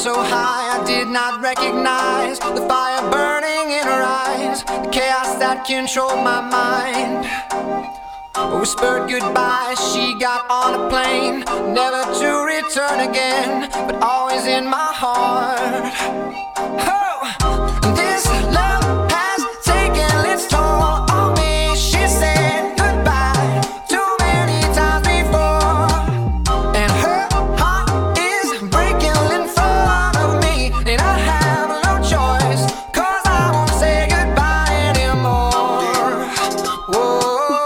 so high I did not recognize the fire burning in her eyes, the chaos that controlled my mind. Whispered goodbye, she got on a plane, never to return again, but always in my heart. Oh, this love has taken its toll on me. She said goodbye too many times before, and her heart is breaking in front of me, and I have no choice, 'cause I won't say goodbye anymore. Whoa.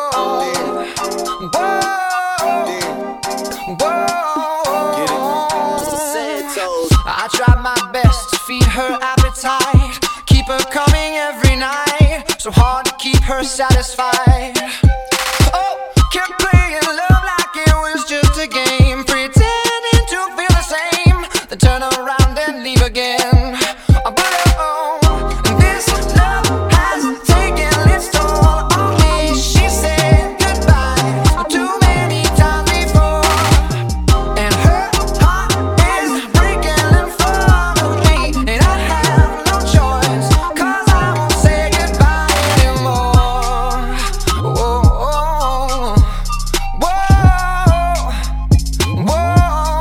I tried my best to feed her appetite, keep her coming every night, so hard to keep her satisfied. Oh, kept playing love like it was just a game, pretending to feel the same, then turn around and leave again. But oh, this love has taken its toll on me. She said goodbye too many times before, and her heart is breaking in front of me, and I have no choice, 'cause I won't say goodbye anymore. Whoa, whoa, whoa.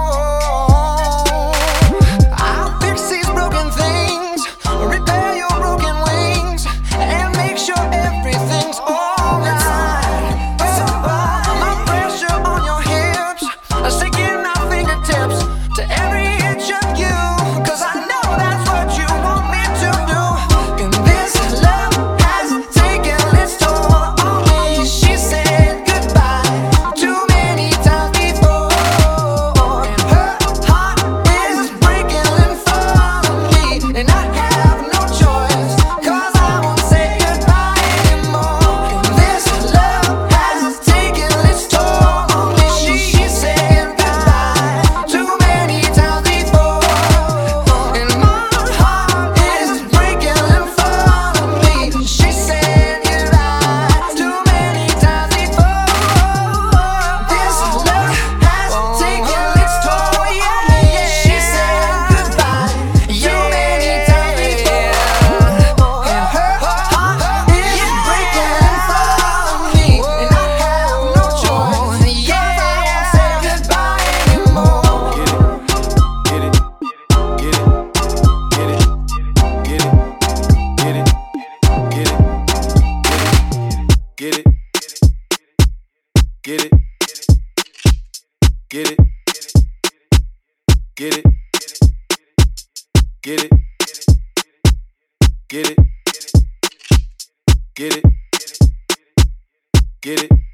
I'll fix these broken things, repair your broken wings, and make sure everything's alright. My pressure on your hips, sticking our fingertips to every inch of you, 'cause I know that's what you want me to do. And this love has taken its toll on me. She said goodbye too many times before, and her heart is breaking in front of me, and I have no choice, 'cause I won't say goodbye anymore. And this love has taken its toll on me. She said goodbye too many times before, and my heart is breaking in front of me. She said goodbye too many times before. This love has taken its toll, yeah. She said goodbye too many times before, and her heart is breaking in front of me, and I have no choice, yeah. I won't say goodbye anymore. Get it, get it, get it, get it, get it, get it, get it, get it, get it, get it, get it, get it, get it, get it, get it, get it.